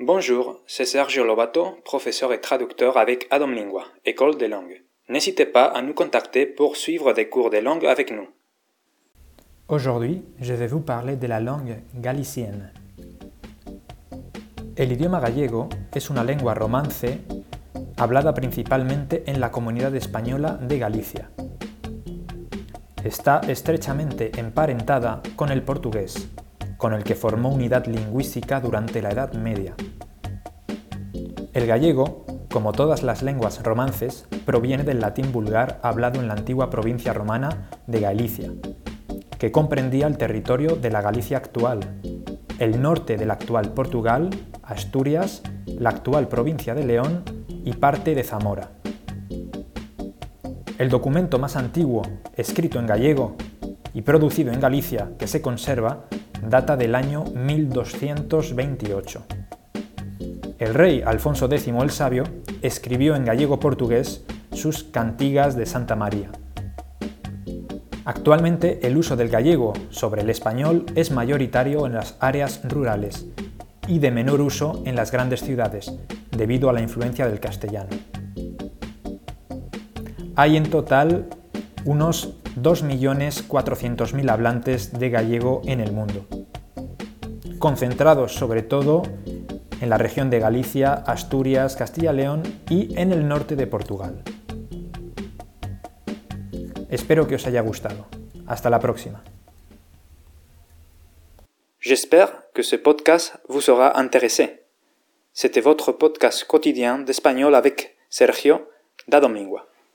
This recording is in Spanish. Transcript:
Bonjour, c'est Sergio Lobato, professeur et traducteur avec Adam Lingua, École des langues. N'hésitez pas à nous contacter pour suivre des cours de langue avec nous. Aujourd'hui, je vais vous parler de la langue galicienne. El idioma gallego es una lengua romance hablada principalmente en la comunidad española de Galicia. Está estrechamente emparentada con el portugués, con el que formó unidad lingüística durante la Edad Media. El gallego, como todas las lenguas romances, proviene del latín vulgar hablado en la antigua provincia romana de Galicia, que comprendía el territorio de la Galicia actual, el norte del actual Portugal, Asturias, la actual provincia de León y parte de Zamora. El documento más antiguo, escrito en gallego y producido en Galicia, que se conserva, data del año 1228. El rey Alfonso X el Sabio escribió en gallego-portugués sus Cantigas de Santa María. Actualmente el uso del gallego sobre el español es mayoritario en las áreas rurales y de menor uso en las grandes ciudades, debido a la influencia del castellano. Hay en total unos 2.400.000 hablantes de gallego en el mundo, concentrados sobre todo en la región de Galicia, Asturias, Castilla-León y en el norte de Portugal. Espero que os haya gustado. Hasta la próxima. J'espère que ce podcast vous aura intéressé. C'était votre podcast quotidien d'espagnol avec Sergio d'Adam Lingua.